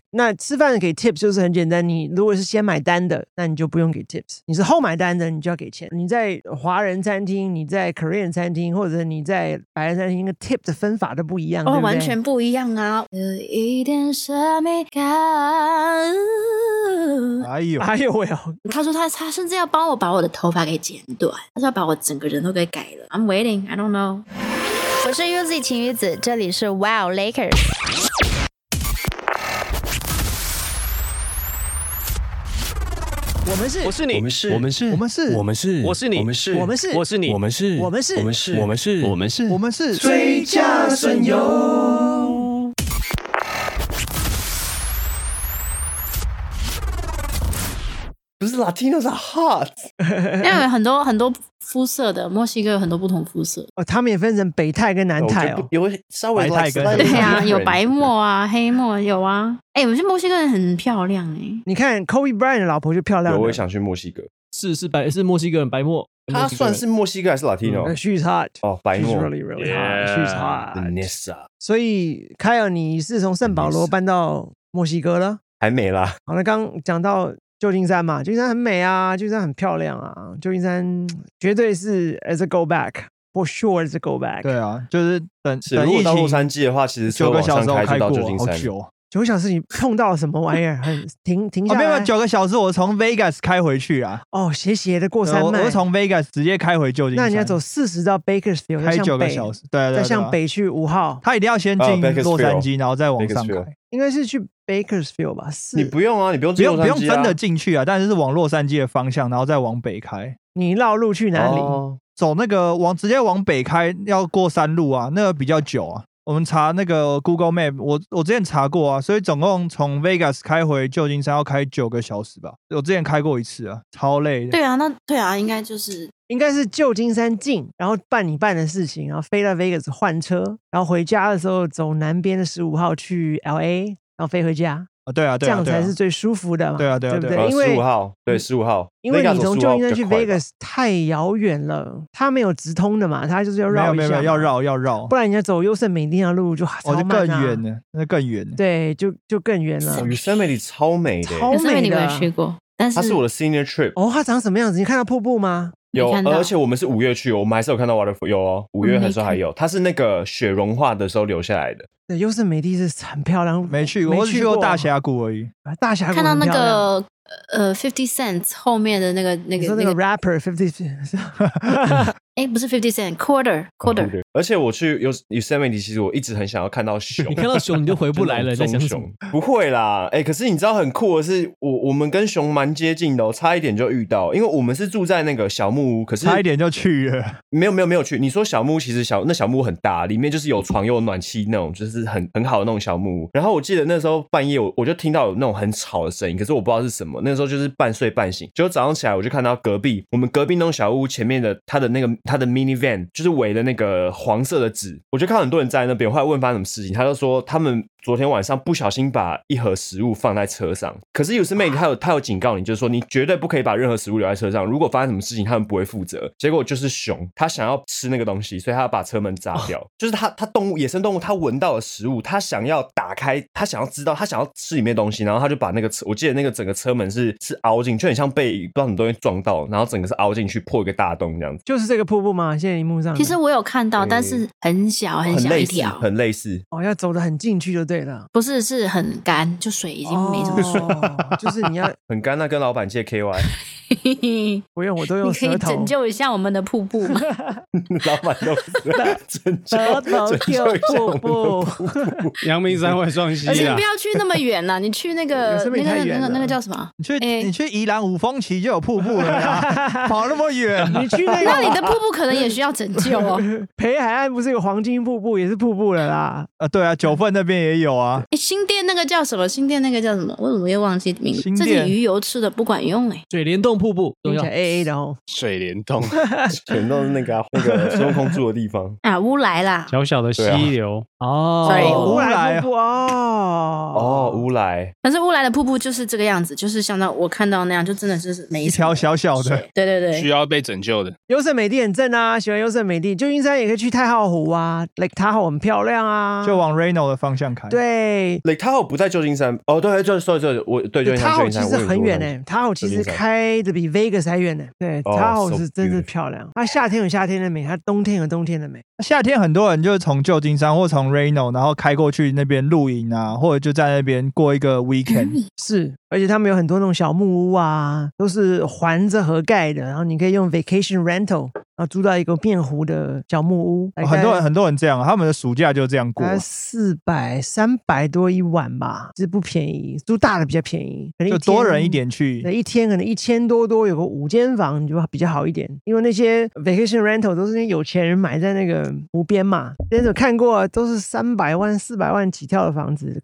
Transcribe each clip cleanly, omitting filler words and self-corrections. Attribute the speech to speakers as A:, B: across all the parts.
A: 那吃饭给 tips 就是很简单，你如果是先买单的，那你就不用给 tips， 你是后买单的，你就要给钱。你在华人餐厅，你在 Korean 餐厅，或者你在白人餐厅，那个 tip 的分法都不一样，对不对？
B: 完全不一样啊！有一点神秘感。
A: 哎呦喂！
B: 他说他甚至要帮我把我的头发给剪短，他说要把我整个人都给改了。I'm waiting, I don't know。我是 UZ 晴雨子，这里是 Wow Lakers。
A: 我们是，
C: 我是你，
D: 我们是，
C: 我们是，
D: 我们是，
C: 我们是，
D: 我是你，
C: 我们是，
A: 我们是，
C: 我是你，
D: 我们是，
A: 我们是，
D: 我们是，
C: 我们是，
D: 我们是，
C: 我们是
D: 最佳损友。不是 Latinos are hot，
B: 因为有很多肤色的，墨西哥有很多不同肤色。
A: 哦，他们也分成北泰跟南泰哦。
D: 有稍微
C: 白泰跟
B: 对啊，有白墨啊，黑墨有啊。我觉得墨西哥人很漂亮
A: 你看 Kobe Bryant 的老婆就漂亮。
D: 我也想去墨西哥。
C: 是墨西哥人白墨。
D: 他算是墨西哥还是 Latino？She's
A: hot。
D: 哦，白墨。
A: She's really hot. She's hot.
D: Vanessa。
A: 所以凯尔，你是从圣保罗搬到墨西哥了？
D: 还没啦。
A: 好了，刚讲到旧金山嘛，旧金山很美啊，旧金山很漂亮啊，旧金山绝对是 as a go back。For sure, as a go back。
C: 对啊，就是等
D: 如果到洛杉矶的话，其实车往上开就到旧金山。
A: 9个小时你碰到什么玩意儿？停下来。
C: 没有9个小时，我从 Vegas 开回去啊。
A: 哦，斜的过山脉。
C: 我是从 Vegas 直接开回旧金山。
A: 那你要走40到 Bakersfield，
C: 开9个小时，对，
A: 再向北去5号。
C: 他一定要先进洛杉矶，然后再往上开。
A: 应该是去 Bakersfield 吧？
D: 你不用啊，你不用进洛杉矶啊，
C: 不用真的进去啊，但是往洛杉矶的方向，然后再往北开。
A: 你绕路去哪里？
C: 走那个直接往北开，要过山路啊，那个比较久啊。我们查那个 Google Map， 我之前查过啊，所以总共从 Vegas 开回旧金山要开9个小时吧。我之前开过一次啊，超累的。
B: 对啊，应该是
A: 旧金山进，然后办你办的事情，然后飞到 Vegas 换车，然后回家的时候走南边的15号去 LA， 然后飞回家。
C: 对啊，
A: 这样才是最舒服的嘛。
C: 对啊，
A: 对不对？因为
D: 15号，对15号，
A: 因为你从旧金山去 Vegas 太遥远了，它没有直通的嘛，它就是要绕一下。
C: 没有，要绕，
A: 不然你要走优胜美地的路就超慢啊。
C: 就更远了，那更远。
A: 对，就更远了。
D: 优胜美地超美的，
A: 超美的。
B: 你没有去过，但是
D: 它是我的 senior trip。
A: 哦，它长什么样子？你看到瀑布吗？
D: 有，而且我们是5月去，我们还是有看到 waterfall， 有哦，5月的时候还有，它是那个雪融化的时候留下来的。
A: 对，优胜美地是很漂亮，
C: 没去过，我只去过大峡谷而已。
A: 大峡谷
B: 看到那个50 Cent 后面的那个
A: 你说那个 rapper 50 Cent。
B: 不是50 Cent quarter。
D: 而且我去Yosemite，其实我一直很想要看到熊。
E: 你看到熊你就回不来了，在想什么？
D: 不会啦，可是你知道很酷的是，我们跟熊蛮接近的差一点就遇到，因为我们是住在那个小木屋，可是
C: 差一点就去了。
D: 没有去。你说小木屋，其实那小木屋很大，里面就是有床有暖气那种，就是很好的那种小木屋。然后我记得那时候半夜我就听到有那种很吵的声音，可是我不知道是什么。那时候就是半睡半醒，结果早上起来我就看到我们隔壁那种小屋前面的它的 minivan 就是围的那个黄色的纸，我就看到很多人在那边。我后来问发生什么事情，他就说他们昨天晚上不小心把一盒食物放在车上，可是Yosemite他有警告你，就是说你绝对不可以把任何食物留在车上，如果发生什么事情他们不会负责。结果就是熊，他想要吃那个东西，所以他要把车门砸掉。就是他野生动物，他闻到了食物，他想要打开，他想要知道，他想要吃里面的东西，然后他就把那个我记得那个整个车门是凹进，就很像被不知道什么东西撞到，然后整个是凹进去破一个大洞这样子。
A: 就是这个瀑布吗？现在荧幕上。
B: 其实我有看到，但是很小一条，
D: 很类似。
A: 要走得很进去就对了。
B: 不是，是很干，就水已经没什么水，
A: 就是你要
D: 很干，那跟老板借 KY。
A: 不用，我都用舌头。
B: 你可以拯救一下我们的瀑布吗？
D: 老板都拯救
A: 瀑布。
E: 阳明山外双溪啊！
B: 你不要去那么远啦，你去那个叫什么？
C: 你去宜兰五峰旗就有瀑布了呀，跑那么远，
A: 你去那
B: 你的瀑布可能也需要拯救哦。
A: 北海岸不是有黄金瀑布，也是瀑布了啦。
C: 对啊，九份那边也有啊。
B: 新店那个叫什么？我怎么又忘记名字？这些鱼油吃的不管用
E: 水帘洞瀑布，
A: 听起来 AA 的哦。
E: 水帘洞，
D: 水帘洞是那个孙悟空住的地方
B: 啊，乌来啦，
E: 小小的溪流
A: 乌来瀑布
D: 乌来。
B: 但是乌来的瀑布就是这个样子，就是像我看到那样，就真的是每
C: 一条小小的，
B: 对，
E: 需要被拯救的。
A: 优胜美地很正啊，喜欢优胜美地。旧金山也可以去太浩湖啊，Lake Tahoe 很漂亮啊，
C: 就往 Reno 的方向开。
A: 对。
D: Lake Tahoe 不在旧金山哦，对，就是我对旧金山，
A: Tahoe 其实很远呢，Tahoe 其实开的比 Vegas 还远呢。对，Tahoe 是真的漂亮。它夏天有夏天的美，它冬天有冬天的美。
C: 夏天很多人就是从旧金山或从 Reno， 然后开过去那边露营啊，或者就在那边过一个 weekend。
A: 是，而且他们有很多那种小木屋啊，都是环着河盖的，然后你可以用 vacation rental， 然后租到一个面湖的小木屋。
C: 很多人这样，他们的暑假就这样过。
A: 300多一晚吧，其实不便宜，租大的比较便宜，可能
C: 就多人一点去，
A: 一天可能1000多，有个5间房，你就比较好一点。因为那些 vacation rental 都是那些有钱人买在那个湖边嘛，之前有看过，都是300万、400万起跳的房子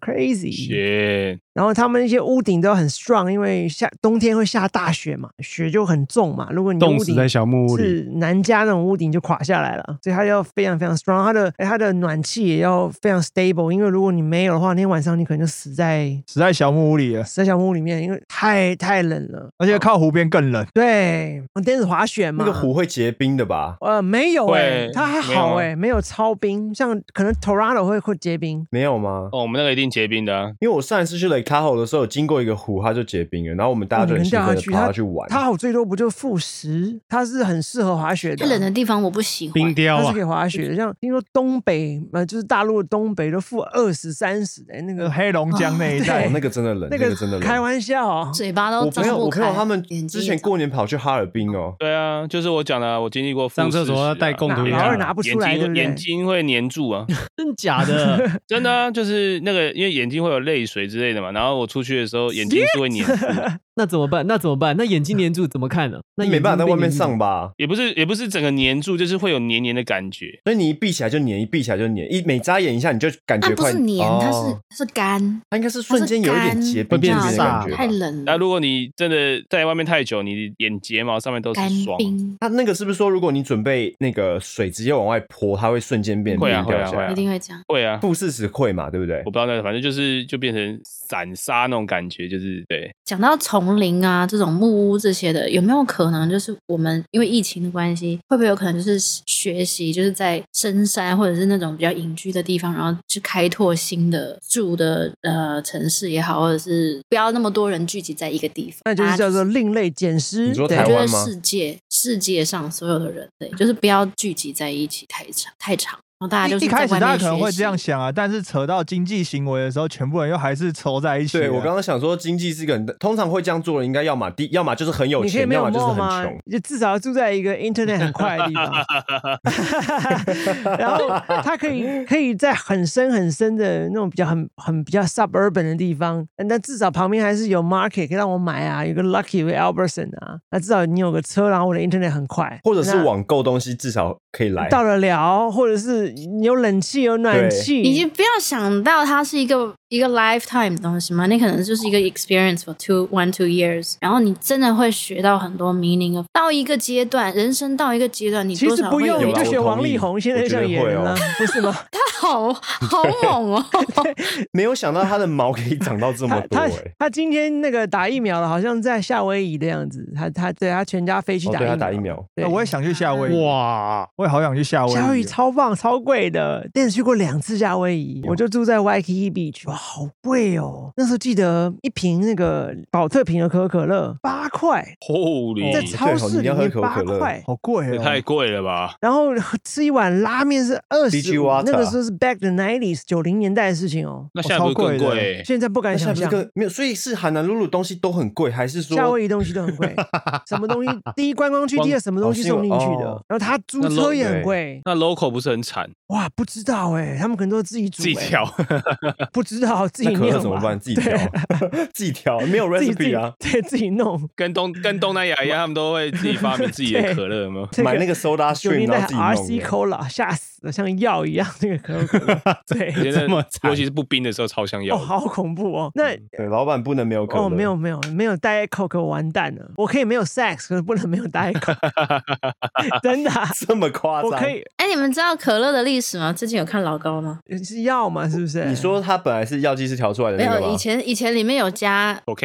A: ，crazy。然后他们那些屋顶都很 strong， 因为冬天会下大雪嘛，雪就很重嘛。如果你
E: 冻死在小木屋里，
A: 是南加那种屋顶就垮下来了，所以它要非常非常 strong， 它的暖气也要非常 stable， 因为如果你没有的话，那天晚上你可能就死在
C: 小木屋里了，
A: 死在小木屋里面，因为太冷了，
C: 而且靠湖边更冷。
A: 对，电子滑雪嘛，
D: 那个湖会结冰的吧？
A: 没有它还好没有超冰，像可能 Toronto 会结冰，
D: 没有吗？
E: 我们那个一定结冰的啊，
D: 因为我上一次去 Lake Tahoe 的时候，有经过一个湖，它就结冰了，然后我们大家就很兴奋的爬下去玩。
A: 它最多不就-10，它是很适合滑雪的。
B: 太冷的地方我不喜欢，
E: 冰雕
A: 它是可以滑雪的，像听说东北就是大陆的东北都-20、30那个
C: 黑龙江那一带，
D: 那个真的冷，
A: 那
D: 个真的冷，
A: 开玩笑，
B: 嘴巴都张不开。
D: 我朋友他们之前过年跑去哈尔滨哦。
E: 对啊，就是我讲的，我经历过
F: 上厕所要带共同
A: 老二拿不出来，
E: 眼睛会黏住啊，
F: 真假的？
E: 真的啊，就是那个因为眼睛会有泪水之类的嘛，然后我出去的时候眼睛是会黏住。
F: 那怎么办？那眼睛黏住怎么看呢？那
D: 没办法在外面上吧？
E: 也不是整个黏住，就是会有黏黏的感觉。
D: 所以你一闭起来就黏，一闭起来就黏，每眨眼一下你就感觉快。
B: 它不是黏，它是干，
D: 它应该是瞬间有一点结冰的感觉。
B: 太冷了。
E: 那如果你真的在外面太久，你眼睫毛上面都是霜。
D: 它那个是不是说，如果你准备那个水直接往外泼，它会瞬间变冰掉下来？
B: 一定会这样。
E: 会啊，
D: 负40会嘛，对不对？
E: 我不知道那个，反正就变成散沙那种感觉，就是对。
B: 讲到丛林啊，这种木屋这些的，有没有可能就是我们因为疫情的关系，会不会有可能就是学习，就是在深山或者是那种比较隐居的地方，然后去开拓新的住的城市也好，或者是不要那么多人聚集在一个地方，
A: 那就是叫做另类捡尸。
D: 你说台湾吗？
B: 我觉得世界上所有的人类，就是不要聚集在一起太长。然后大家就是
C: 一开始大家可能会这样想啊，但是扯到经济行为的时候，全部人又还是凑在一起。
D: 对，我刚刚想说，经济是个通常会这样做的，应该要么就是很有钱，要么就是很穷，
A: 就至少住在一个 internet 很快的地方。然后他可以在很深的那种比较 suburban 的地方，但至少旁边还是有 market 可以让我买啊，有个 Lucky 有个 Albertson 啊，那至少你有个车，然后我的 internet 很快，
D: 或者是网购东西至少可以来
A: 到得了，或者是你有冷气有暖气，
B: 你就不要想到它是一个 lifetime 的东西嘛，那可能就是一个 experience for 1-2 years， 然后你真的会学到很多 meaning。到一个阶段，人生到一个阶段，你多少会有。
A: 其实不用，你就选王力宏，现在就想演人了，不是吗？
B: 他好猛哦！
D: 没有想到他的毛可以长到这么多
A: 他今天那个打疫苗了，好像在夏威夷的样子。他全家飞去打疫苗。
C: 对，我也想去夏威夷。哇，我也好想去夏威夷。
A: 夏威夷超棒，超贵的。但是去过2次夏威夷，我就住在 Waikiki Beach， 哇，好贵哦！那时候记得一瓶那个保特瓶的可口可乐8块，在超市里面8块，
C: 好贵哦，
E: 太贵了吧？
A: 然后吃一碗拉面是25，那个时候是 back the 90s 90年代的事情哦。
E: 那现在不是更贵？
A: 现在不敢想象。
D: 没有，所以是海南露露东西都很贵，还是说
A: 夏威夷东西都很贵？什么东西？第一观光区，第二什么东西送进去的？然后他租车也很贵。
E: 那 local 不是很惨？
A: 哇，不知道他们可能都自己煮，
E: 自己调，
A: 不知道自己弄
D: 怎么办？自己调，自己调，没有 recipe 啊，
A: 对，自己弄，
E: 跟东南亚一样，他们都会自己发明自己的可乐吗？
D: 买那个 soda stream， 然后自己弄
A: RC Cola， 吓死了，像药一样那个可口可乐，对，
E: 尤其是不冰的时候超像药，
A: 好恐怖哦。那
D: 对，老板不能没有可乐，
A: 没有 Diet Coke 完蛋了，我可以没有 sex， 可是不能没有 Diet Coke， 真的
D: 这么夸张？
A: 我可以。
B: 你们知道可乐的历史吗？最近有看老高吗？
A: 是药吗？是不是？
D: 你说它本来是药剂师调出来的那个吗？
B: 没有，以前里面有加
E: cocaine 呢？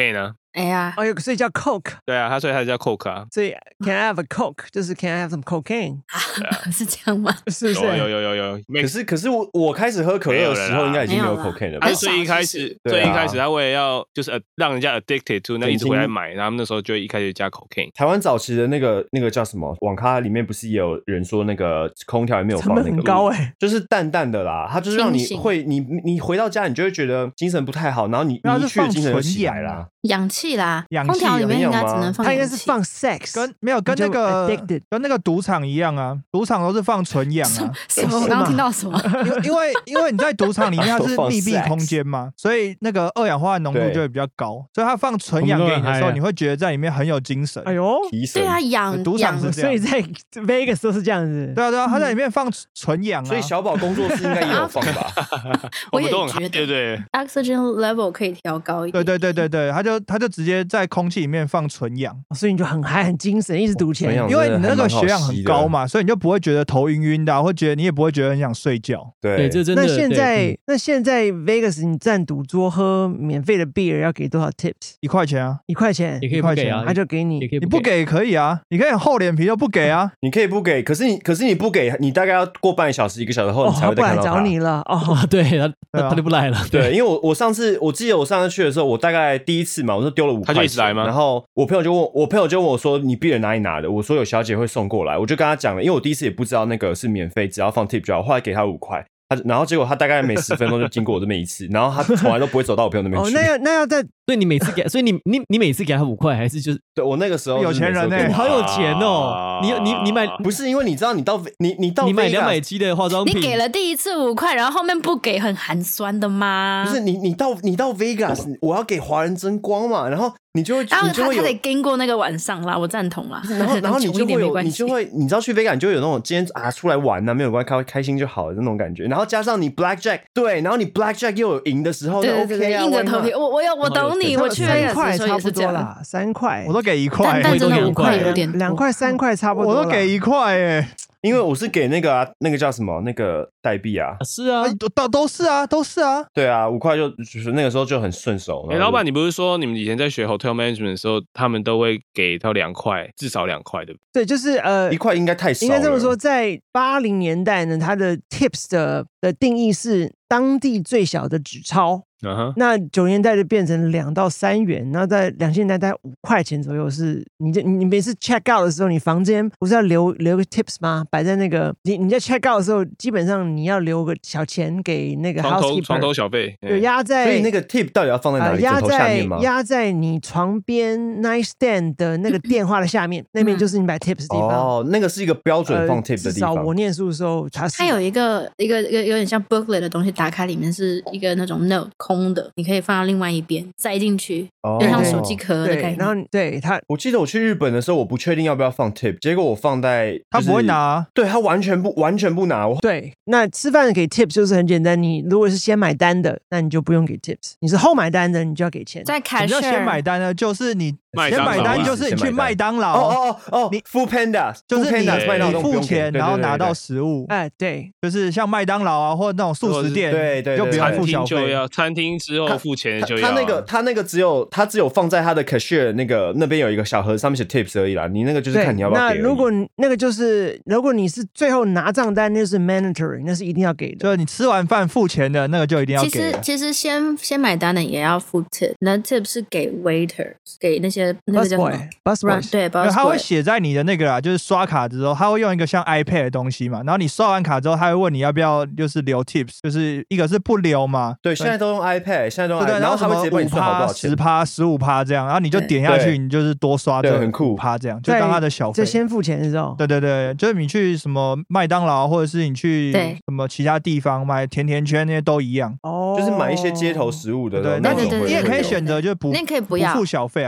B: 哎呀，
A: 哦，所以叫 Coke，
E: 对啊，所以它叫 Coke 啊。
A: 所以 Can I have a Coke 就是 Can I have some cocaine，
B: 是这样吗？
A: 是不是？
E: 有，
D: 可是我开始喝可乐的时候，应该已经没有 cocaine 了吧
E: 他？最一开始，
D: 对啊
E: 最一开始他为了要就是让人家 addicted to， 那一直回来买，然后他们那时候就一开始加 cocaine。
D: 台湾早期的那个叫什么网咖里面不是也有人说那个空调里面有
A: 成本很
D: 放那个
A: 高哎，
D: 就是淡淡的啦，它就是让你
B: 清醒
D: 会你回到家你就会觉得精神不太好，然后你
C: 然后是
D: 一去的
C: 放
D: 精神就
C: 纯
D: 起来啦
C: 氧啊。
B: 氧气啦，
C: 氧气
B: 空调里面应该只能放
A: 它应
B: 氧气。
A: 该是放 sex，
C: 跟没有跟那
A: 你就
C: 个
A: addicted
C: 跟那个赌场一样啊，赌场都是放纯氧啊。
B: 什么？我刚刚听到什么？
C: 因为你在赌场里面它是
D: 都放
C: 密闭
D: sex
C: 空间嘛，所以那个二氧化碳浓度
D: 对
C: 就会比较高，所以它放纯氧给你的时候，你会觉得在里面很有精神。
A: 哎呦，
D: 提神
B: 对啊，氧
C: 赌场是这样，
A: 所以在 Vegas 都是这样子。
C: 对啊，它在里面放纯氧啊。
D: 所以小宝工作室应该也有放吧？
B: 我也
E: 们都很嗨，
B: 觉得
E: 对不对？
B: oxygen level 可以调高一点。
C: 对，它就直接在空气里面放纯氧，
A: 所以你就很嗨、很精神，一直赌钱
D: 纯氧。
C: 因为你的那个血氧
D: 还蛮好吸的
C: 很高嘛，所以你就不会觉得头晕晕的啊，或觉得你也不会觉得很想睡觉。
F: 对，这真的。
A: 那现
F: 对
A: 在，那现在 Vegas 你站赌桌喝免费的 beer 要给多少 tips？
C: 1块钱啊，
A: 1块钱
F: 也，可以不给啊，
A: 他就给你
F: 也可以
C: 你不给也可以啊，你可以厚脸皮就不给啊。
D: 你可以不给，可是你不给，你大概要过半个小时、1个小时后，
A: 哦，
D: 你才
A: 他不来
D: 会再看到他。
A: 找你了哦。
F: 啊，对
C: 对啊
F: 他就不来了。
D: 对，因为我记得我上次去的时候，我大概第一次嘛，我就丢了5块钱，
E: 他就一直来吗
D: 然后我朋友就问我说：“你 beer 哪里拿的？”我说：“有小姐会送过来。”我就跟他讲了，因为我第一次也不知道那个是免费，只要放 tip 就好。后来给他5块，然后结果他大概每10分钟就经过我这边一次，然后他从来都不会走到我朋友那边
A: 哦，
D: 去。
A: 那要在
F: 所以你每次给，所以你每次给他5块，还是就是
D: 对我那个时候
C: 有钱人欸
F: 你好有钱哦？你买
D: 不是因为你知道你到
F: 你买
D: Vegas
F: 270的化妆品，
B: 你给了第一次5块，然后后面不给，很寒酸的吗？
D: 不是你到 Vegas， 我要给华人争光嘛，然后你就会
B: 然后
D: 你就会有
B: 他得经过那个晚上啦，我赞同啦。
D: 然后你
B: 穷
D: 就会有
B: 一点没关系
D: 你就会你知道去 Vegas 你就会有那种今天出来玩啊没有关系开心就好了那种感觉，然后加上你 Blackjack 对，然后你 Blackjack 又有赢的时候，那
B: 对对对
D: OK 啊，
B: 硬着
D: why
B: 头皮，
D: not？
B: 我懂你，我去
A: 3
B: Vegas
A: 块
B: 的时候
A: 差不
B: 也是这样。
A: 多啦，3块
C: 我，都给1块，
B: 但真的
F: 我都给
B: 5块有点多
A: 2块3块差不多啦。
C: 我都给1块哎。
D: 因为我是给那个啊那个叫什么那个代币啊，
F: 是啊，
C: 都是啊，都是啊。
D: 对啊，5块就是那个时候就很顺手。
E: 哎，老板，你不是说你们以前在学 hotel management 的时候，他们都会给到2块，至少2块，对不对？
A: 对，就是
D: 1块应该太少了，
A: 应该这么说，在80年代呢，它的 tips 的定义是当地最小的纸钞。
E: 嗯哼，
A: 那90年代就变成2到3元，然后在2000年代大概5块钱左右是，你每次 check out 的时候，你房间不是要留个 tips 吗？摆在那个你在 check out 的时候，基本上你要留个小钱给那个
E: 床
A: housekeeper，
E: 头小费，
A: 有压在，
D: 所以那个 tip 到底要放在哪里？枕头下面吗？
A: 压在你床边 nightstand 的那个电话的下面，那边就是你摆 tips 的地方。
D: 哦，那个是一个标准放 tip 的地方。
A: 至少我念书的时候，它
B: 有一个有点像 booklet 的东西，打开里面是一个那种 note 空的，你可以放到另外一边塞进去，
D: 哦
B: 就像手机壳的概
A: 对，
B: 念。
A: 然后对它
D: 我记得我去日本的时候，我不确定要不要放 tip， 结果我放在
C: 他不会拿啊，
D: 对他完全不拿。
A: 对，那吃饭给 tips 就是很简单，你如果是先买单的，那你就不用给 tips；你是后买单的，你就要给钱。
B: 在
C: 什么叫先买
B: cashier
C: 单呢？就是你
E: 麦当劳
C: 先买单，
E: 啊
C: 就是你去麦当劳，
D: 哦，
C: 你
D: Food Panda
C: 就是你
D: Food Panda 麦当劳都不
C: 付
D: 用给
C: 钱，然后拿到
D: 对
C: 食物，
A: 哎，对，
C: 就是像麦当劳啊，或者那种素食店，
D: 对
C: 就不用
E: 餐
C: 付小费。
E: 厅就要，餐厅之后付钱就要。
D: 他那个只有放在他的 cashier 那边有一个小盒，上面写 tips 而已啦。你那个就是
A: 对
D: 看你要不要给而已。
A: 那如果那个就是如果你是最后拿账单，那就是 mandatory， 那是一定要给的。
C: 就是你吃完饭付钱的那个就一定要给了。
B: 其实先买单的也要付 tip， 那 tip 是给 waiter， 给那个叫什么
A: bus boy，
B: 对 bus boy，
C: 他会写在你的那个啦，就是刷卡之后，他会用一个像 iPad 的东西嘛，然后你刷完卡之后，他会问你要不要就是留 tips， 就是一个是不留嘛，
D: 对，现在都用 iPad， 现在都用 iPad，
C: 对，
D: 然后他会直接帮你算好多少
C: 5%、
D: 钱。
C: 10%、15%这样，然后你就点下去，
D: 对
C: 你就是多刷这
D: 对很酷
C: 5%这样，就当他的小费
A: 就。先付钱的时候，
C: 对对对，就是你去什么麦当劳，或者是你去
B: 对
C: 什么其他地方买甜甜圈那些都一样。
A: 哦，
D: 就是买一些街头食物的
C: 对，
D: 那种
B: 对对对
C: 你也可以
B: 对
C: 选择就
B: 那可以不要
C: 付小费啊，就是他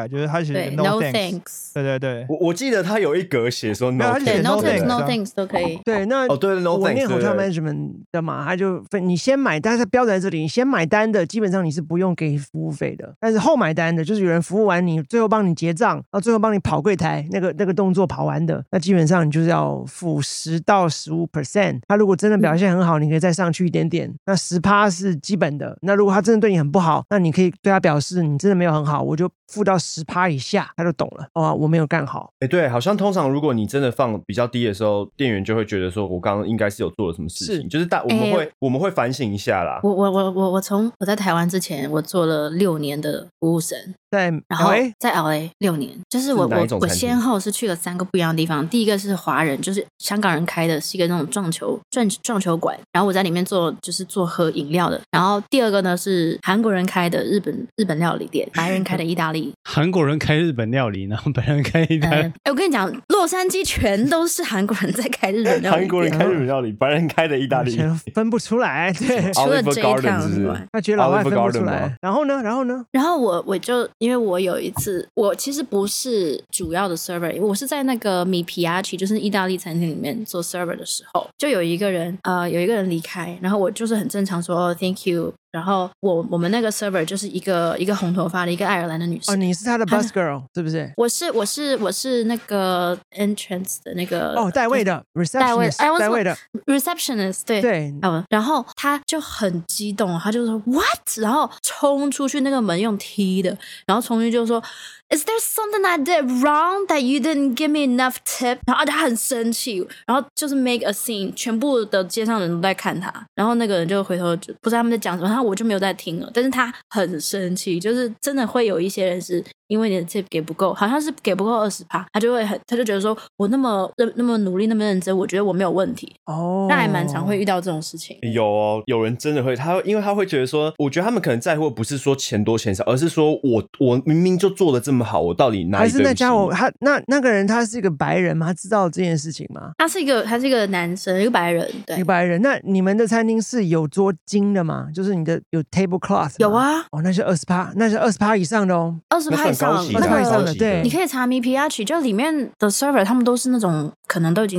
C: 写
B: 对
C: no
B: no
C: thanks。
B: thanks，
C: 对对对，
D: 我记得他有一格写说
C: 没
D: no
C: 有他
D: thanks，
C: 写
B: 对 no
C: no
B: thanks
C: thanks
B: no
C: 啊
B: thanks 都可以。
A: 对，那
D: 哦对 no
A: 我
D: thanks，
A: 念
D: 对
A: hotel
D: 对
A: management 的嘛，他就分你先买单，它标准在这里，你先买单的基本上你是不用给服务费的，但是后买单的，就是有人服务完你，最后帮你结账，然后最后帮你跑柜台那个动作跑完的，那基本上你就是要付10到15%。他如果真的表现很好，你可以再上去一点点，那10%是基本的。那如果他真的对你很不好，那你可以对他表示你真的没有很好，我就付到10%以下，他就懂了。哦，我没有干好。
D: 对，好像通常如果你真的放比较低的时候，店员就会觉得说，我刚刚应该是有做了什么事情，
A: 是
D: 就是我们会反省一下啦。
B: 我从我在台湾之前，我做了6年的服务生，
A: 在
B: 然后
A: LA
B: 在 LA 6年，就是
D: 是哪一种餐厅
B: 先后是去了3个不一样的地方。第一个是华人，就是香港人开的，是一个那种撞球馆，然后我在里面做喝饮料的。然后第二个呢是韩国人开的日本料理店，白人开的意大利。
G: 韩国人开日本料理，然后白人开意大利。
B: 我跟你讲，洛杉矶全都是韩国人在开日本料理店，
D: 韩国人开日本料理，白人开的意大利。
A: 全分不出来，对，
B: 除了
D: Oliver
B: J
D: Garden
B: Town
D: 是不是
B: 之外。
A: 他觉得老外分不
D: Oliver
A: 出
D: Garden
A: 来
D: 吗。
A: 然后呢？
B: 然后我就因为我有一次，我其实不是主要的 server， 我是在那个米皮亚奇，就是意大利餐厅里面做 server 的时候，就有一个人离开，然后我就是很正常说哦 thank you。然后我们那个 server 就是一个红头发的一个爱尔兰的女生。
A: 哦，你是他的 bus girl 是不是？
B: 我是那个 entrance 的那个
A: 代位的 receptionist， 代位的
B: receptionist， 对
A: 对。
B: 然后他就很激动，他就说 what， 然后冲出去那个门用踢的，然后冲进去就说 Is there something I did wrong that you didn't give me enough tip？ 然后他很生气，然后就是 make a scene， 全部的街上人都在看他，然后那个人就回头就不知道他们在讲什么，然后我就没有在听了，但是他很生气，就是真的会有一些人是因为你的 tip 给不够，好像是给不够20%，他就觉得说我那么努力那么认真，我觉得我没有问题。
A: 哦，
B: 那还蛮常会遇到这种事情。
D: 有人真的会，因为他会觉得说，我觉得他们可能在乎的不是说钱多钱少，而是说我明明就做的这么好，我到底哪里
A: 还是那家伙
D: 他
A: 那个人他是一个白人吗？他知道这件事情吗？
B: 他是一个男生，一个白人，对，
A: 一个白人。那你们的餐厅是有桌巾的吗？就是你的有 tablecloth 吗？
B: 有啊。
A: 哦，那是20%，那是20%以上的哦。
B: 20%以上，
A: 20%以上的，对。
B: 你可以查米皮亚奇，就里面的 server 他们都是那种可能都已经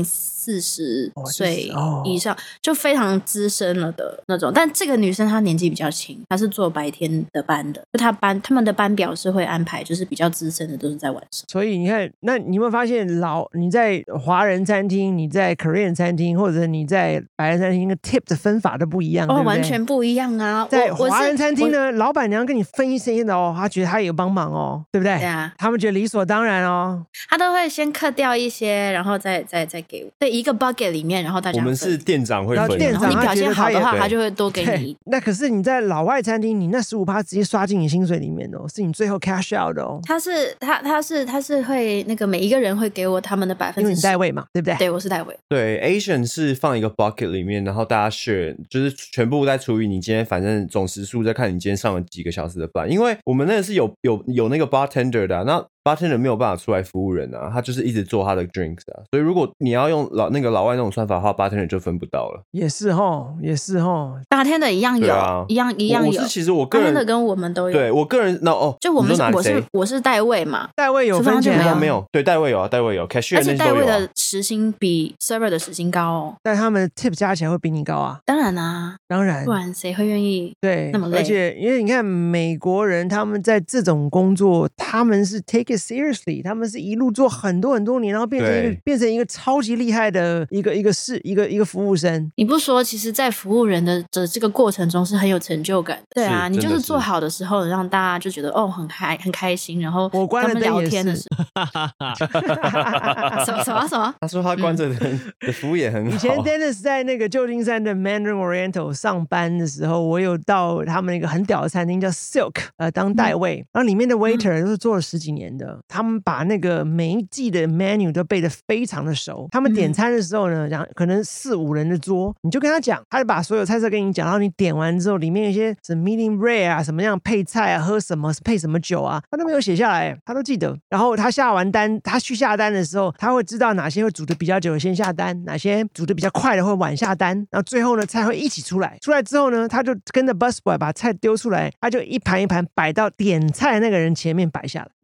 B: 40岁以上，就非常资深了的那种。但这个女生她年纪比较轻，她是做白天的班的，就他们的班表是会安排，就是比较资深的都是在晚上。
A: 所以你看，那你有没有发现你在华人餐厅、你在 Korean 餐厅，或者你在白人餐厅，那个 tip 的分法都不一样，对不对？
B: 完全不一样啊！
A: 在华人餐厅呢，老板娘跟你分一些的哦，她觉得她有帮忙哦，对不对？
B: 对啊，
A: 他们觉得理所当然哦，
B: 他都会先cut掉一些，然后再给我。对，一个 bucket 里面，然后大家
D: 我们是店长会分，
B: 然后你表现好的话，
D: 他
B: 他就会多给你。
A: 那可是你在老外餐厅，你那15%直接刷进你薪水里面哦，是你最后 cash out 的哦。他
B: 是会那个每一个人会给我他们的10%，
A: 因为你代位嘛，对不对？
B: 对，我是代位。
D: 对 ，Asian 是放一个 bucket 里面，然后大家 share， 就是全部再除以你今天反正总时数，再看你今天上了几个小时的班。因为我们那个是有那个 bartender 的那bartender 没有办法出来服务人啊，他就是一直做他的 drinks 啊，所以如果你要用老外那种算法的话 ，bartender 就分不到了。
A: 也是齁
B: bartender 一样有，
D: 啊、
B: 一样有。
D: 其实我个人
B: bartender 跟我们都有。
D: 对我个人
B: 就我是代位嘛，
A: 代位有分钱
D: 吗？没有，对，代位有啊，代位有 cashier 那些都有、啊。而且
B: 代位的时薪比 server 的时薪高哦，
A: 但他们的 tip 加起来会比你高啊。
B: 当然啦，
A: 当然，
B: 不然谁会愿意
A: 对
B: 那么累？
A: 而且因为你看美国人，他们在这种工作，他们是 take it seriously， 他们是一路做很多年，然后变成一个超级厉害的一个服务生。
B: 你不说，其实，在服务人的这个过程中是很有成就感的。对啊，你就是做好的时候，让大家就觉得哦很开心，然后
A: 我关了灯
B: 聊天的时候，什么？
D: 他说他关着灯的服务也很好。
A: 以前 Dennis 在那个旧金山的 Mandarin Oriental 上班的时候，我有到他们一个很屌的餐厅叫 Silk 当代位，然后里面的 waiter 都是做了10几年的，他们把那个每一季的 menu 都背得非常的熟。他们点餐的时候呢，可能4、5人的桌，你就跟他讲，他就把所有菜色跟你讲，然后你点完之后，里面有一些什么 medium rare 啊，什么样配菜啊，喝什么配什么酒啊，他都没有写下来，他都记得。然后他下完单，他去下单的时候，他会知道哪些会煮的比较久先下单，哪些煮的比较快的会晚下单，然后最后呢菜会一起出来。出来之后呢，他就跟着 busboy 把菜丢出来，他就一盘一盘摆到点菜那个人前面摆下来，没有指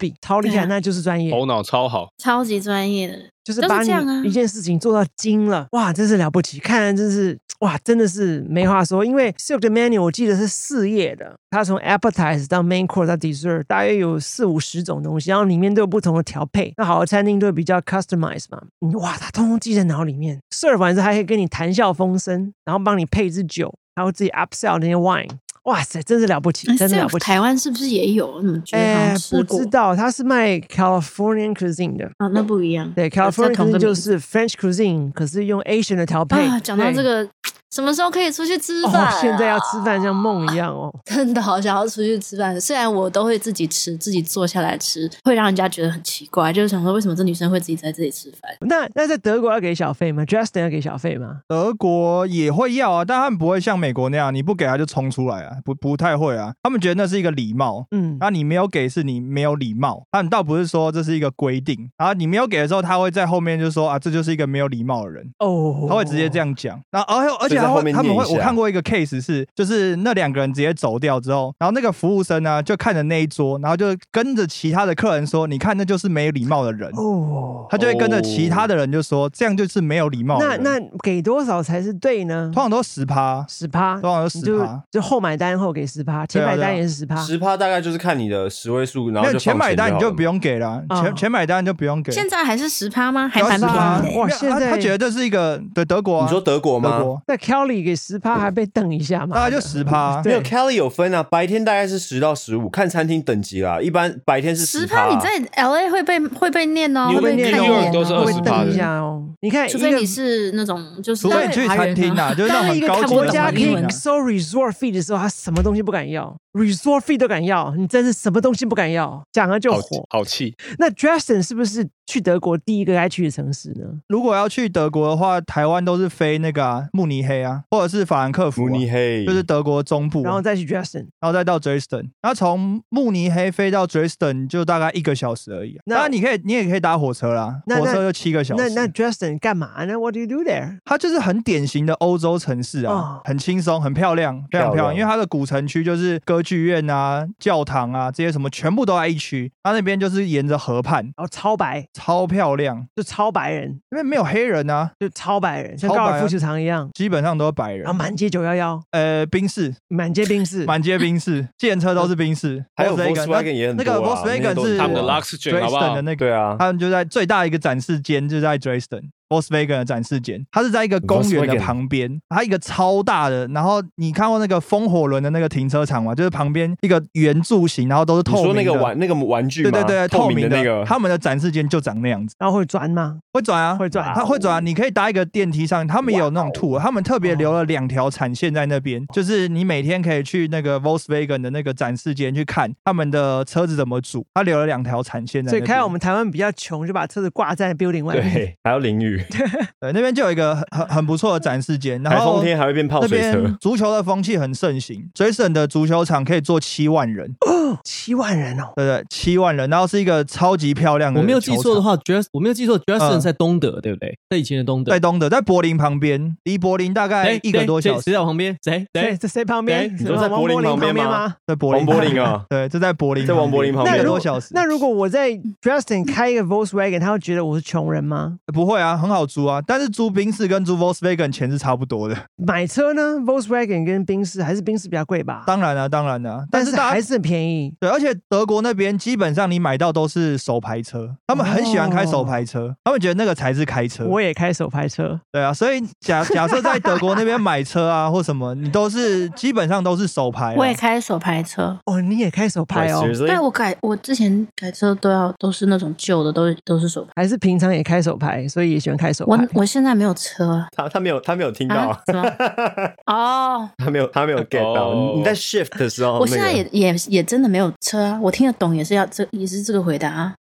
A: 比，超厉害，
B: 对啊
A: 那就是专业。
E: 头脑超好。
B: 超级专业的，
A: 就是把
B: 都是这样啊
A: 你一件事情做到精了，哇，真是了不起！看来真是哇，真的是没话说。因为 Silk 的 menu 我记得是4页的，它从 appetizer 到 main course 到 dessert 大约有40-50种东西，然后里面都有不同的调配。那好的餐厅都会比较 customize 嘛，哇，它通通记在脑里面。serve 完之后还可以跟你谈笑风生，然后帮你配一支酒，还有自己 upsell 那些 wine。哇塞，真是了不起，真的了不起！
B: 台湾是不是也有？你们觉得好像吃过？
A: 不知道，它是卖 Californian cuisine 的。
B: 哦，那不一样。
A: 对 ，Californian cuisine 就是 French cuisine， 可是用 Asian 的调配。
B: 啊，讲到这个，什么时候可以出去吃饭
A: 现在要吃饭像梦一样哦。
B: 真的好想要出去吃饭，虽然我都会自己吃，自己坐下来吃，会让人家觉得很奇怪，就是想说为什么这女生会自己在这里吃饭？
A: 那在德国要给小费吗 ？Justin 要给小费吗？
C: 德国也会要啊，但他们不会像美国那样，你不给他就冲出来啊，不太会啊。他们觉得那是一个礼貌，那你没有给是你没有礼貌，他们倒不是说这是一个规定，然后你没有给的时候，他会在后面就说啊，这就是一个没有礼貌的人哦，他会直接这样讲。然后而且他们会，我看过一个 case 是，就是那2个人直接走掉之后，然后那个服务生呢就看着那一桌，然后就跟着其他的客人说，你看那就是没礼貌的人哦，他就会跟着其他的人就说，这样就是没有礼貌的人。
A: 那给多少才是对呢？
C: 通常都10%，通常都10%，
A: 就后买单后给10%，前买单也是10%，10%
D: 大概就是看你的10位数，然后就
C: 前买单你就不用给了，前买单就不用给。
B: 现在还是10%吗？还蛮便宜的。
A: 哇，现在
C: 他觉得这是一个对德国，
D: 你说德国吗？
A: 那 Kelly 给10%还被瞪一下嘛？
C: 大概就10%，
D: 没有 Kelly 有分啊，白天大概是10到15，看餐厅等级啦。一般白天是10%，
B: 你在 LA 会被念哦，
A: 会被念哦，
E: 都是20%
A: 的一下哦。你看，
B: 除非你是那种就是
C: 除非你去餐厅啊，就是那种很高级的
A: 国家可以收 resort fee 的时候，他什么东西不敢要 ，resort fee 都敢要，你真是什么东西不敢要，讲了就火，
E: 好气。
A: 那 Justin 是不是去德国第一个该去的城市呢？
C: 如果要去德国的话，台湾都是飞那个慕尼黑啊，或者是法兰克福，
D: 慕尼黑
C: 就是德国中部，
A: 然后再去 Dresden，
C: 然后再到 Dresden， 然后从慕尼黑飞到 Dresden 就大概1个小时而已。当然你也可以搭火车啦，火车就7个小时。
A: 那 Dresden 干嘛呢 ？What do you do there？
C: 它就是很典型的欧洲城市啊，很轻松，很漂亮，非常漂亮。因为它的古城区就是歌剧院啊、教堂啊这些什么全部都在一区。它那边就是沿着河畔，
A: 然后超白，
C: 超漂亮，
A: 就超白人，
C: 因为没有黑人啊，
A: 就超白人，像高尔夫球场一样，
C: 基本上都是白人。
A: 然后满街911，
C: 宾士，
A: 满街宾士，
C: 满街宾士，计程车都是宾士，
D: 还有 Volkswagen 也很多啊。
C: 那个 Volkswagen 是
E: 他们的 Luxgen 好不好？
C: 的那个，
D: 对啊，
C: 他们就在最大一个展示间就在 Dresden。Volkswagen 的展示间，它是在一个公园的旁边，它一个超大的。然后你看过那个风火轮的那个停车场吗？就是旁边一个圆柱形，然后都是透明的。
D: 你说那个玩具吗？
C: 对，
D: 透明的那个。
C: 他们的展示间就长那样子。
A: 然后会转吗？
C: 会转啊，
A: 会转，
C: 它会转啊。你可以搭一个电梯上，他们有那种 tour，他们特别留了2条产线在那边，就是你每天可以去那个 Volkswagen 的那个展示间去看他们的车子怎么组。他留了2条产线在那边。
A: 所以看我们台湾比较穷，就把车子挂在 building 外面。
D: 对，还要淋雨。
C: 对，那边就有一个很不错的展示间，然后
D: 台风天还会变泡水车。
C: 那边足球的风气很盛行，Dresden的足球场可以坐7万人
A: ，7万人哦，
C: 对，7万人，然后是一个超级漂亮的。
F: 我没有记错的话，Dresden 在东德，对不对？在以前的东德，
C: 在东德，在柏林旁边，离柏林大概1个多小时。
F: 谁在我旁边？
A: 谁旁边？
D: 你说在柏林旁边吗？
C: 在柏林，
D: 王柏林啊，
C: 对，就在柏林，
D: 在王柏林旁边
C: 1个多小时。
A: 那如果我在 Dresden 开一个 Volkswagen， 他会觉得我是穷人吗？
C: 不会啊，很好租啊，但是租宾士跟租 Volkswagen 钱是差不多的。
A: 买车呢 ，Volkswagen 跟宾士还是宾士比较贵吧？
C: 当然啊，
A: 但是还是很便宜。
C: 对，而且德国那边基本上你买到都是手排车，他们很喜欢开手排车，他们觉得那个才是开车。
A: 我也开手排车。
C: 对啊，所以假设在德国那边买车啊或什么，你基本上都是手排。
B: 我也开手排车。
A: 哦，你也开手排哦？
B: 但我之前改车都是那种旧的，都是手排。
A: 还是平常也开手排，所以也喜欢开手排。
B: 我现在没有车。
D: 他没有听到啊？
B: 哦，
D: 他没有 get 到。你在 shift 的时候，
B: 我现在也真的没有车啊。我听得懂也是这个回答啊。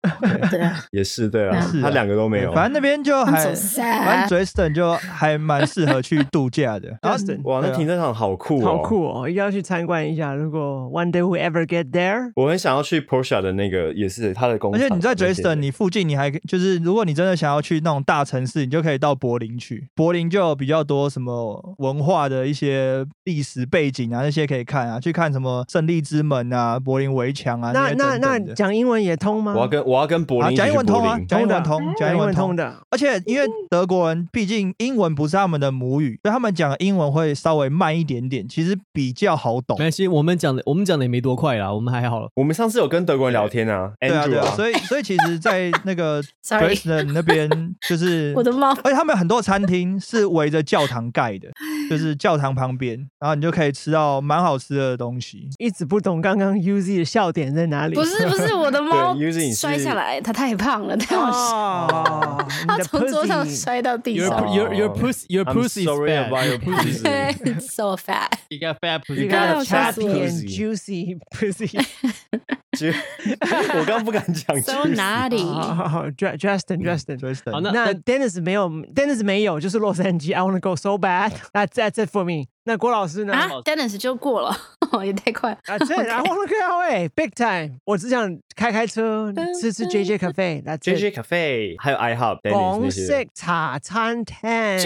B: 对啊，
D: 也是对啊
C: 是啊
D: 他两个都没有。
C: 反正那边就还
B: I'm so sad
C: 反正 Dresden 就还蛮适合去度假的。然后
A: Dresden
D: 哇，那停车场好酷哦，
A: 好酷哦，一定要去参观一下。如果 one day we ever get there，
D: 我很想要去 Porsche 的那个，也是他的工厂。
C: 而且你在
D: 那些
C: Dresden， 你附近你还就是，如果你真的想要去那种大城市，你就可以到柏林去。柏林就有比较多什么文化的一些历史背景啊，那些可以看啊，去看什么胜利之门啊、柏林围墙啊些
A: 那
C: 等等的。
A: 讲英文也通吗？
D: 我要跟柏林一起
C: 讲英
D: 去柏
C: 文通啊，
D: 林。
C: 讲英文通，讲
A: 讲英
C: 英文通。
A: 文通的。
C: 而且因为德国人毕竟英文不是他们的母语，所以他们讲英文会稍微慢一点点，其实比较好懂
F: 没。关系，我们讲的也没多快啦，我们还好了。
D: 我们上次有跟德国人聊天啊
C: 对啊，对
D: ，Andrew
C: 啊，所以其实，在那个
B: Sorry
C: Dresden 那边，就是
B: 我的猫
C: 而且他们很多餐厅是围着教堂盖的，就是教堂旁边，然后你就可以吃到蛮好吃的东西。
A: 一直不懂刚刚 UZ 的笑点在哪里？
B: 不是我的猫
D: 对，Uzi 你是
B: 摔下来，它太胖了，太好笑，
A: 哦，你
B: 它
A: 的
B: 从桌上
A: pussy
B: 摔到地
F: Your
B: 上。
F: your
D: I'm
F: pussy is
D: sorry
F: fat.
D: about your pussy.
B: It's so fat。
F: You got fat pussy.
A: You
B: 刚
A: got
B: 刚
A: a
B: 吓死
A: chappy
B: 我
A: and juicy pussy。
D: 我刚不敢讲
B: So
D: juicy
B: naughty。
A: 好 Justin。
F: 好，
A: 那
F: 那
A: Dennis 没有，就是洛杉矶。I want to go so bad. That's it for me. 那郭老师呢
B: 啊，Dennis 就过了，也太快了。
A: ？That's it. I want to go away big time. 我只想开车吃 JJ Cafe. That's
D: JJ
A: it.
D: Cafe 还有 IHOP
A: 港
D: Dennis 那
A: 式
D: 些。
A: 茶餐厅。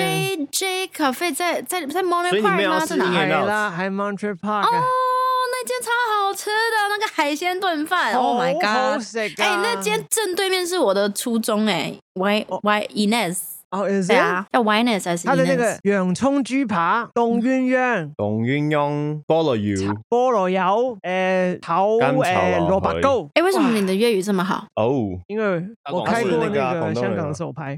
B: JJ Cafe 在 Montreal
D: 所以你们
B: Park 吗？
D: 要吃
B: 在哪？
D: In-N-Out
A: 海啦，还 Montreal Park
B: 哦，那间超好吃的，那个海鲜炖饭。Oh my
A: 好
B: god！
A: 食啊
B: 哎，那间正对面是我的初中哎，Y Inez。
A: 哦，is
B: 对
A: it？
B: 啊，叫 Yness 还是 Inez？
A: 它的那个洋葱豬扒、凍鴛鴦、
D: 董鸳鸯菠蘿油
A: 菠蘿油、炒
D: 甘炒
A: 蘿
D: 蘿
A: 蔔糕。
B: 哎，为什么你的粤语这么好？
D: 哦，
A: 因为我开过那个香港的手牌，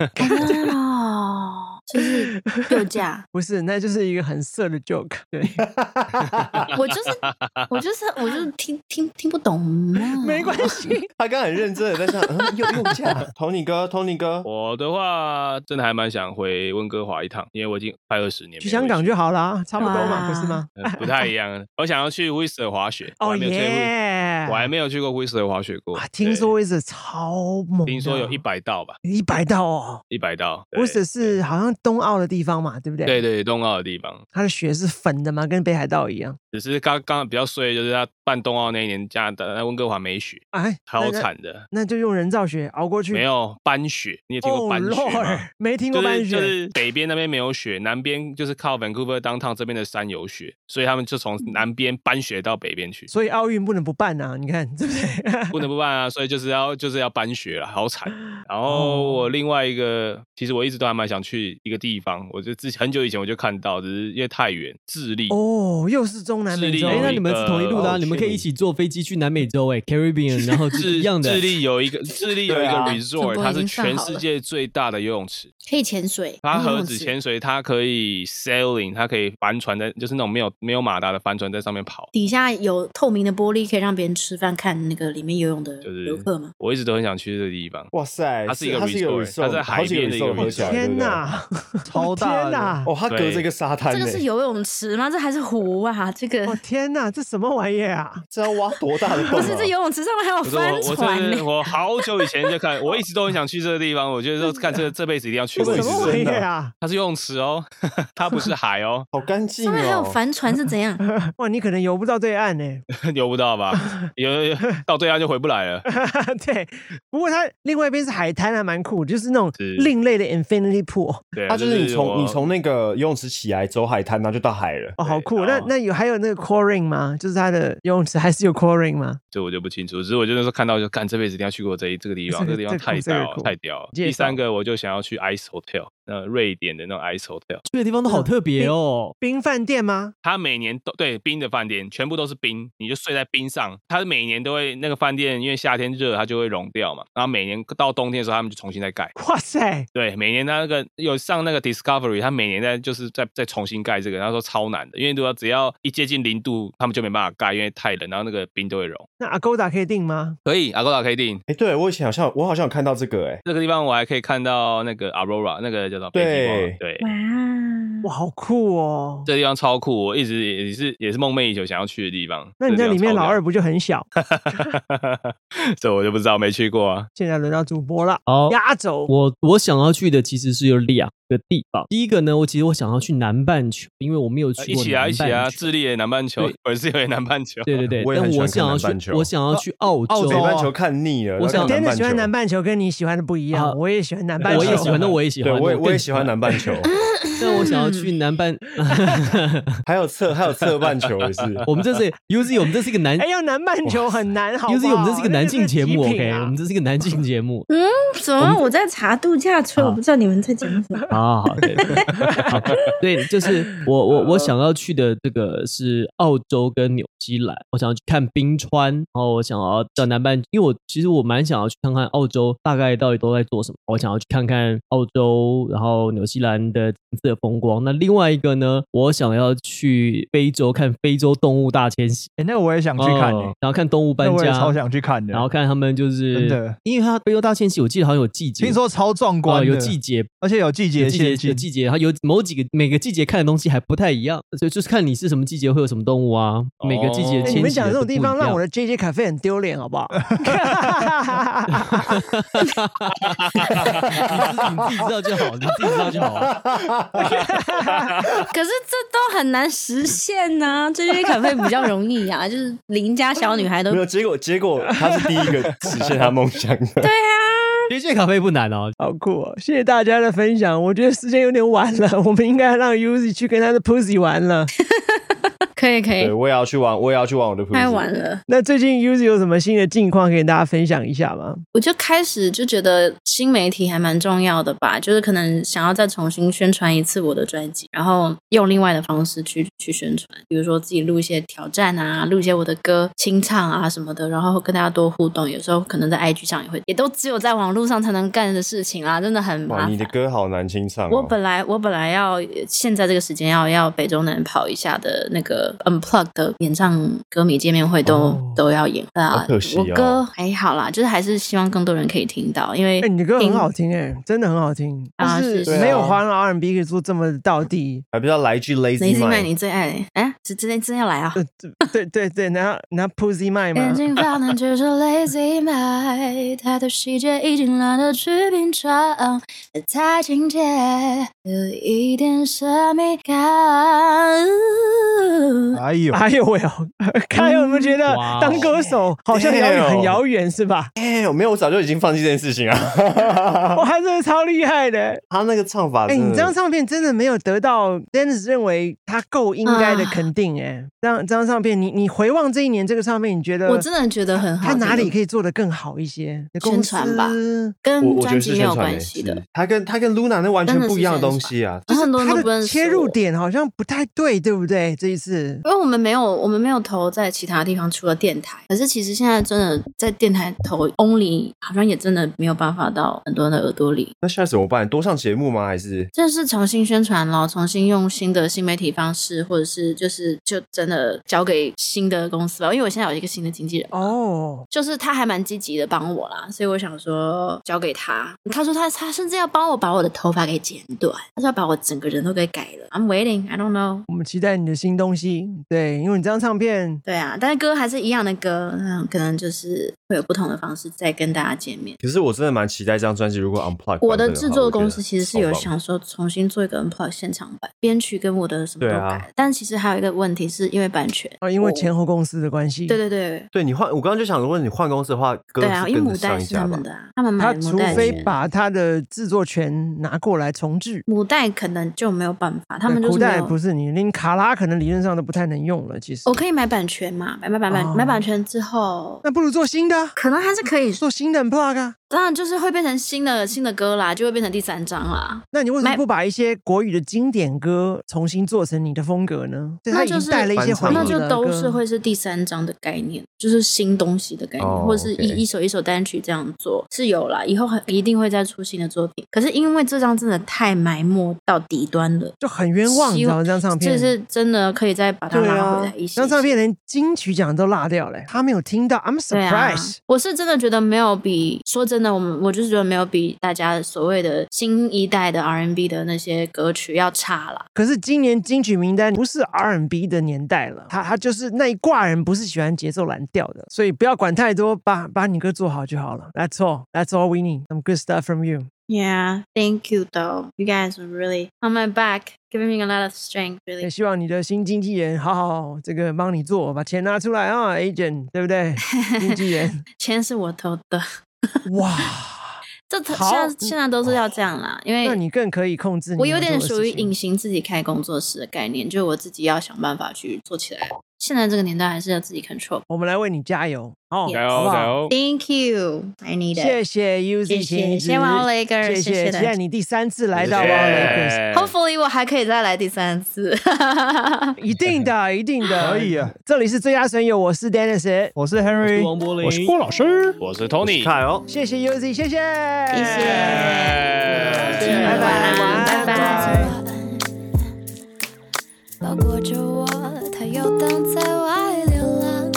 B: 哦，就是右驾。
A: 不是，那就是一个很色的 joke。对，
B: 我就是听不懂嘛。
A: 没关系。
D: 他刚刚很认真的在想，右驾。Tony 哥，
E: 我的话真的还蛮想回温哥华一趟，因为我已经快20年没有
A: 去香港就好啦，差不多嘛，
B: 哇
A: 不是吗？
E: 不太一样。我想要去 Whistler 滑雪，
A: 哦耶！
E: 我还没有去过 Whistler 滑雪过
A: 啊，。听说 Whistler 超猛的，
E: 听说有100道吧
A: 100道哦。
E: ，100道。对
A: Whistler 是好像冬奥的地方嘛，对不对？
E: 对对，冬奥的地方。
A: 它的雪是粉的嘛，跟北海道一样。
E: 只是刚比较衰，就是他办冬奥那一年，加拿大温哥华没雪，
A: 哎，
E: 超惨的。
A: 那就用人造雪熬过去。
E: 没有搬雪，你有听过搬雪吗？
A: Lord，没听过搬雪。
E: 就是北边那边没有雪，南边就是靠 Vancouver downtown 这边的山有雪，所以他们就从南边搬雪到北边去。
A: 所以奥运不能不办啊！你看对不对？
E: 不能不办啊，所以就是要搬雪了，好惨。然后我另外一个，其实我一直都还蛮想去一个地方，我就很久以前我就看到，只是因为太远，智利。
A: 哦，又是中南美洲。
F: 哎，
E: 智利有
F: 那你们是同一路的啊，你们可以一起坐飞机去南美洲，哎，Caribbean， 然后是一样的。
E: 智利有一个 resort， 它是全世界最大的游泳池，
B: 可以潜水，
E: 它何止潜水，它可以 sailing， 它可以帆船在，就是那种没有马达的帆船在上面跑。
B: 底下有透明的玻璃，可以让别人吃饭看那个里面游泳的
E: 就是
B: 游客吗？
E: 我一直都很想去这个地方。
D: 哇塞，
E: 它是一个
D: resort，
E: 它在海边的一个
D: 合起来，
A: 天
D: 哪！
A: 哪，
C: 超大的
A: 天哪！
D: 哦，它隔着一个沙滩，
B: 这个是游泳池吗？这还是湖啊？这个
A: 哦天哪，这什么玩意啊？
D: 这要挖多大的洞啊？
B: 不是，这游泳池上面还有帆船呢。
E: 我好久以前就看，我一直都很想去这个地方。我觉得说看这辈子一定要去过一次。
A: 什么玩意啊？
E: 它是游泳池哦，它不是海哦，
D: 好干净哦。
B: 上面还有帆船是怎样？
A: 哇，你可能游不到对岸呢。
E: 游不到吧？有到对岸就回不来了。
A: 对，不过它另外一边是海滩，还蛮酷，就是那种
E: 是
A: 另类的 infinity pool。
E: 对，
D: 它就是你
E: 我
D: 从那个游泳池起来走海滩，然后就到海了。
A: 哦，好酷！
E: 然后
A: 那还有那个 coring 吗？就是它的游泳池还是有 coring 吗？
E: 这我就不清楚，只是我就那时候看到就干，这辈子一定要去过这个地方，这个地方太屌了，太屌了。
A: 介绍
E: 第三个我就想要去 Ice Hotel，瑞典的那种 Ice Hotel，
F: 去的地方都好特别哦。
A: 冰饭店吗？
E: 它每年都对冰的饭店全部都是冰，你就睡在冰上。它每年都会那个饭店，因为夏天热，它就会融掉嘛。然后每年到冬天的时候，他们就重新再盖。
A: 哇塞！
E: 对，每年它那个有上那个 Discovery， 它每年再重新盖这个，然后说超难的，因为只要一接近0度，他们就没办法盖，因为太冷，然后那个冰都会融。
A: 那 Agoda 可以订吗？
E: 可以 ，Agoda 可以订。
D: 哎，对我以前我好像有看到这个，哎，
E: 这个地方我还可以看到那个 Aurora， 那个叫做北极光。对，
B: 哇，
A: 哇，好酷哦！
E: 这地方超酷，我一直也是梦寐以求想要去的地方。
A: 那你在里面老二不就很小？
E: 这我就不知道，没去过啊。
A: 现在轮到主播了，
F: 好，
A: 压轴。
F: 我想要去的其实是有2个地方。第一个呢，其实我想要去南半球，因为我没有去过南半球。
E: 一起啊！智利也南半球，我是也南半球。
F: 对，但我想要去澳洲。
D: 北半球看腻了，
F: 我想
A: 真的喜欢南半球，跟你喜欢的不一样。我也喜欢南半球，
F: 我也喜欢，那我也喜欢，
D: 我也喜欢南半球。
F: 但我想要去南半，
D: 还有侧半球也是。
F: 我们这是 UZ， 我们这是一个男，
A: 要南半球很难，好不好
F: UZ， 我们这是一个男性节目 ，OK， 我们这是一个男性节目。
B: 怎么？我在查度假村，我不知道你们在讲什么。
F: 好，对，就是我想要去的这个是澳洲跟纽西兰，我想要去看冰川，然后我想要到南半，因为其实我蛮想要去看看澳洲大概到底都在做什么，我想要去看看澳洲，然后纽西兰的景色风光。那另外一个呢，我想要去非洲看非洲动物大迁徙，
C: 那个我也想去看，
F: 然后看动物搬家，
C: 我也超想去看的，
F: 然后看他们就是
C: 真的，
F: 因为它非洲大迁徙，我记得好像有季节，
C: 听说超壮观的，
F: 有季节，
C: 而且有季节限定，
F: 有季节，然后有每个季节看的东西还不太一样，所以就是看你是什么季节会有什么动物啊，每个季节迁徙的
A: 你们讲这种地方让我
F: 的
A: 的 JJ 咖啡很丢脸，好不好？
F: 你自己知道就好，你自己知道就好。
B: 可是这都很难实现呐、这些咖啡比较容易啊，就是邻家小女孩都
D: 没有结果他是第一个实现他梦想的。
B: 对啊。
F: JJ 咖啡不难哦，
A: 好酷哦！谢谢大家的分享，我觉得时间有点晚了，我们应该让 Uzi 去跟他的 Pussy 玩了。
B: 可以，
D: 对，我也要去玩我的 Pussy。
B: 太晚了。
A: 那最近 Uzi 有什么新的近况可以跟大家分享一下吗？
B: 我就开始就觉得新媒体还蛮重要的吧，就是可能想要再重新宣传一次我的专辑，然后用另外的方式去宣传，比如说自己录一些挑战啊，录一些我的歌清唱啊什么的，然后跟大家多互动。有时候可能在 IG 上也都只有在网络上才能干的事情啊，真的很麻烦。
D: 你的歌好难清唱、
B: 我本来要现在这个时间要北中南跑一下的那个 Unplugged 的演唱歌迷见面会都要演
D: 好可惜哦。
B: 我歌还好啦，就是还是希望更多人可以听到，因为
A: 你的歌很好听真的很好听
B: 啊，
A: 就是没有华人 R&B 可以做这么道地，
D: 还不知道来一句 Lazy Mind，
B: 你最爱真要来啊？
A: 对，拿 Pussy Mind 吗？
B: 眼睛发难却是 Lazy Mind， 太多细节已经懒得去品尝，太亲切，有一点神秘感。
C: 哎呦
A: 喂看有没有觉得当歌手好像很遥远是吧？
D: 没有，我早就已经放弃这件事情啊。
A: 哇，他真的超厉害的，
D: 他那个唱法
A: 你这张唱片真的没有得到 Dennis 认为他够应该的肯定这张唱片你回望这一年这个唱片，你觉得
B: 我真的觉得很好，
A: 他哪里可以做得更好一些？
B: 宣传吧，跟专辑没有关系的。
D: 他跟 Luna 那完全不一样的东西啊，
B: 很多人都不认识。
A: 切入点好像不太对不对？这一次
B: 因为我们没有投在其他地方，除了电台。可是其实现在真的在电台投 Only 好像也真的没有办法到很多人的耳朵里。
D: 那现在怎么办？多上节目吗？还是
B: 这是重新宣传咯，重新用新的新媒体方式，或者是就真的交给新的公司吧。因为我现在有一个新的经纪人就是他还蛮积极的帮我啦，所以我想说交给他。他说他甚至要帮我把我的头发给剪短，他说要把我整个人都给改了。I'm waiting, I don't know。
A: 我们期待你的新东西，对，因为你这张唱片，
B: 对啊，但是歌还是一样的歌，可能就是会有不同的方式再跟大家见面。
D: 可是我真的蛮期待这张专辑如果 Unplugged。
B: 我的制作公司其实是有想说重新做一个 Unplugged 现场版，编曲跟我的什么都改，但其实还有一个问题是因为版权
A: 因为前后公司的关系。
B: 对，
D: 你换，我刚刚就想问你换公司的话，歌
B: 对啊，因为母带是他们的他们买母带，
A: 他除非把他的制作权拿过来重制，
B: 母带可能就没有办法，他们就是
A: 母带不是你连卡拉可能理论上都不太能用了。其实
B: 我可以买版权嘛，买版权之后，
A: 那不如做新的，
B: 可能还是可以
A: 做新的 Unplugged 啊。
B: 当然就是会变成新的歌啦，就会变成第3张啦。
A: 那你为什么不把一些国语的经典歌重新做成你的风格呢？
B: 那就是
A: 带了一些回忆的歌，
B: 那就都是会是第3张的概念，就是新东西的概念，或者是一首一首单曲这样做是有啦，以后一定会再出新的作品。可是因为这张真的太埋没到底端了，
A: 就很冤枉，你知道这张唱片
B: 就是真的可以再把它拉回来一些。
A: 这张唱片连金曲奖都落掉了，他没有听到 ，I'm surprised。
B: 我是真的觉得没有比说真真的，我就是觉得没有比大家所谓的新一代的 R&B 的那些歌曲要差啦。
A: 可是今年金曲名单不是 R&B 的年代了，他就是那一挂人不是喜欢节奏蓝调的，所以不要管太多，把你歌做好就好了。That's all we need. Some good stuff from you.
B: Yeah, thank you though. You guys were really on my back, giving me a lot of strength,
A: 也
B: really.
A: 希望你的新经纪人好这个帮你做，把钱拿出来啊 ，agent 对不对？经纪人，
B: 钱是我投的。
A: 哇，
B: 现在都是要这样啦，因为
A: 那你更可以控制你
B: 我有点
A: 要做的事情
B: 属于隐形自己开工作室的概念，就我自己要想办法去做起来。现在这个年代还是要自己 control。
A: 我们来为你加油哦，
B: Yes
E: 加
A: 好不好
E: 油加油！
B: Thank you, I need it.
A: 谢谢 UZ
B: 谢
A: 晴子，
B: 谢谢哇 Lakers，
A: 谢
B: 谢谢大家
A: 期待你第3次来到哇
E: 谢谢
A: Lakers，
B: Hopefully 我还可以再来第3次。
A: 一定的，一定的，
C: 可以啊。
A: 这里是最佳损友，我是 Dennis，
C: 我是 Henry，
F: 王柏林，
G: 我是郭老师，
E: 我是 Tony，
D: 凯哦，
A: 谢谢 UZ， 谢谢，
B: 谢谢，
A: 拜拜晚安
B: 拜拜。
H: 包裹着我，他游荡在外流浪。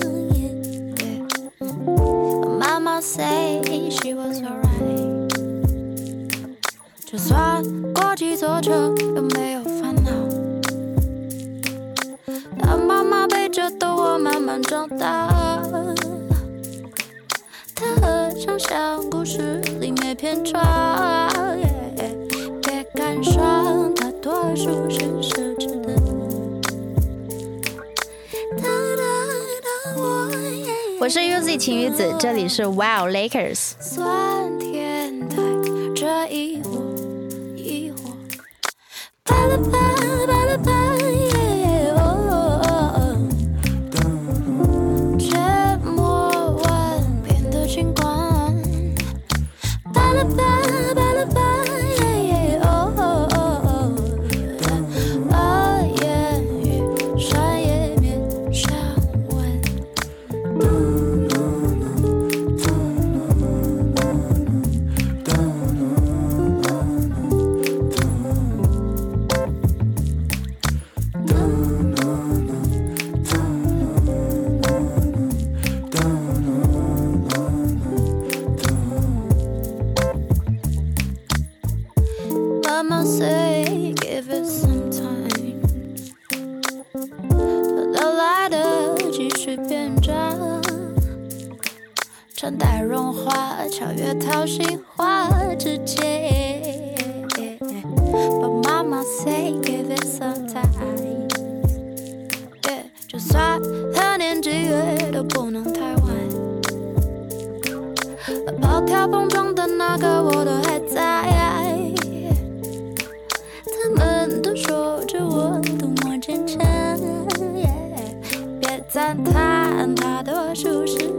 H: 妈妈 say she was alright， 就算过几座城，有没有烦恼？当妈妈背着的我慢慢长大，它很像故事里面篇章，别感伤，大多数是奢侈的。
B: 我是 UZ 晴雨子，这里是 Wow Lakers。
H: 酸甜带着疑惑，疑惑，巴拉巴巴拉巴耶哦，沉默完变得轻狂，巴拉巴巴拉巴耶哦，把言语善也面上闻。Mama say give it some time， 等到来得及续变长，穿戴融化，超越掏心话之间。But Mama say give it some time， 就算他年纪越都不能太晚。跑跳碰撞的那个我都还在，他们都说着我多么坚强，别赞叹大多数是